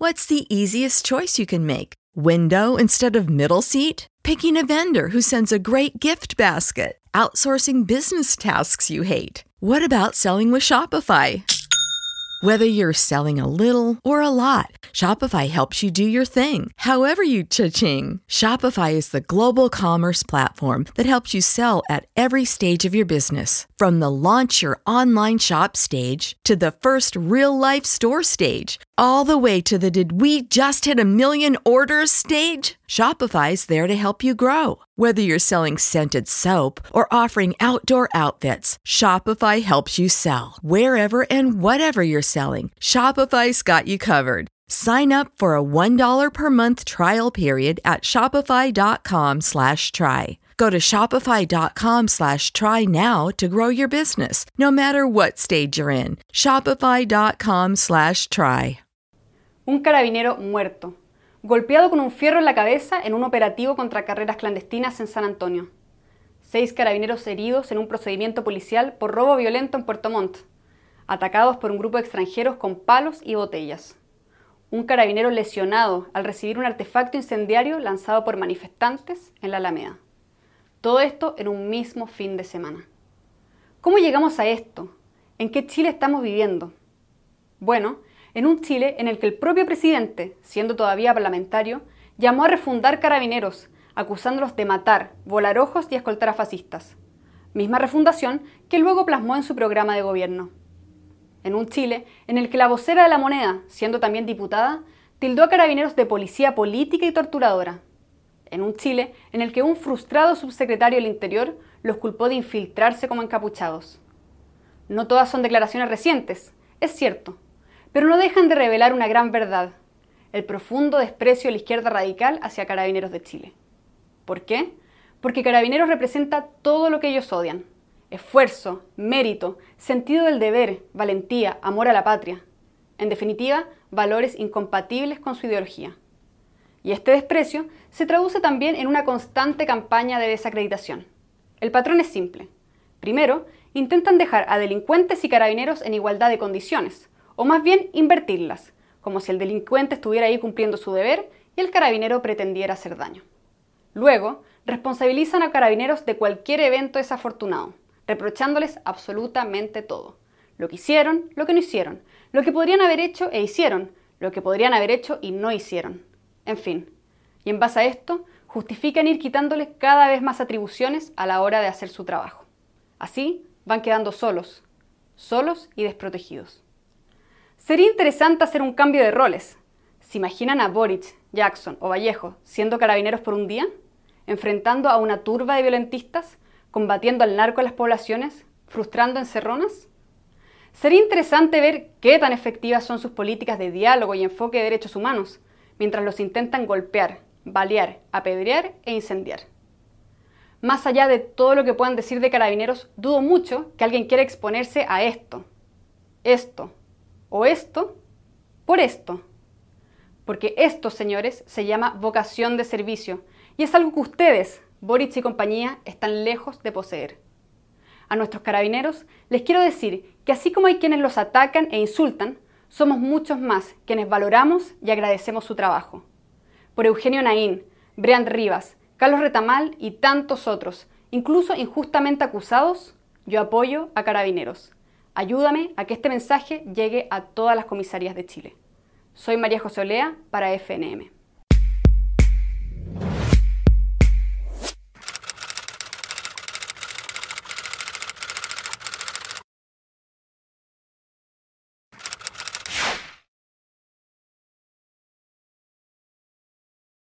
What's the easiest choice you can make? Window instead of middle seat? Picking a vendor who sends a great gift basket? Outsourcing business tasks you hate? What about selling with Shopify? Whether you're selling a little or a lot, Shopify helps you do your thing, however you cha-ching. Shopify is the global commerce platform that helps you sell at every stage of your business. From the launch your online shop stage to the first real-life store stage, all the way to the did we just hit a million orders stage. Shopify's there to help you grow. Whether you're selling scented soap or offering outdoor outfits, Shopify helps you sell. Wherever and whatever you're selling, Shopify's got you covered. Sign up for a $1 per month trial period at shopify.com/try. Go to shopify.com/try now to grow your business, no matter what stage you're in. Shopify.com/try. Un carabinero muerto, golpeado con un fierro en la cabeza en un operativo contra carreras clandestinas en San Antonio. 6 carabineros heridos en un procedimiento policial por robo violento en Puerto Montt, atacados por un grupo de extranjeros con palos y botellas. Un carabinero lesionado al recibir un artefacto incendiario lanzado por manifestantes en la Alameda. Todo esto en un mismo fin de semana. ¿Cómo llegamos a esto? ¿En qué Chile estamos viviendo? Bueno, en un Chile en el que el propio presidente, siendo todavía parlamentario, llamó a refundar carabineros, acusándolos de matar, volar ojos y escoltar a fascistas. Misma refundación que luego plasmó en su programa de gobierno. En un Chile en el que la vocera de La Moneda, siendo también diputada, tildó a carabineros de policía política y torturadora. En un Chile en el que un frustrado subsecretario del Interior los culpó de infiltrarse como encapuchados. No todas son declaraciones recientes, es cierto, pero no dejan de revelar una gran verdad: el profundo desprecio de la izquierda radical hacia Carabineros de Chile. ¿Por qué? Porque Carabineros representa todo lo que ellos odian: esfuerzo, mérito, sentido del deber, valentía, amor a la patria. En definitiva, valores incompatibles con su ideología. Y este desprecio se traduce también en una constante campaña de desacreditación. El patrón es simple. Primero, intentan dejar a delincuentes y carabineros en igualdad de condiciones, o más bien invertirlas, como si el delincuente estuviera ahí cumpliendo su deber y el carabinero pretendiera hacer daño. Luego, responsabilizan a carabineros de cualquier evento desafortunado, reprochándoles absolutamente todo: lo que hicieron, lo que no hicieron, lo que podrían haber hecho e hicieron, lo que podrían haber hecho y no hicieron. En fin, y en base a esto, justifican ir quitándoles cada vez más atribuciones a la hora de hacer su trabajo. Así van quedando solos y desprotegidos. Sería interesante hacer un cambio de roles. ¿Se imaginan a Boric, Jackson o Vallejo siendo carabineros por un día? ¿Enfrentando a una turba de violentistas? ¿Combatiendo al narco en las poblaciones? ¿Frustrando encerronas? Sería interesante ver qué tan efectivas son sus políticas de diálogo y enfoque de derechos humanos, mientras los intentan golpear, balear, apedrear e incendiar. Más allá de todo lo que puedan decir de Carabineros, dudo mucho que alguien quiera exponerse a esto o esto por esto. Porque esto, señores, se llama vocación de servicio y es algo que ustedes, Boric y compañía, están lejos de poseer. A nuestros carabineros les quiero decir que así como hay quienes los atacan e insultan, somos muchos más quienes valoramos y agradecemos su trabajo. Por Eugenio Naín, Brian Rivas, Carlos Retamal y tantos otros, incluso injustamente acusados, yo apoyo a Carabineros. Ayúdame a que este mensaje llegue a todas las comisarías de Chile. Soy María José Olea para FNM.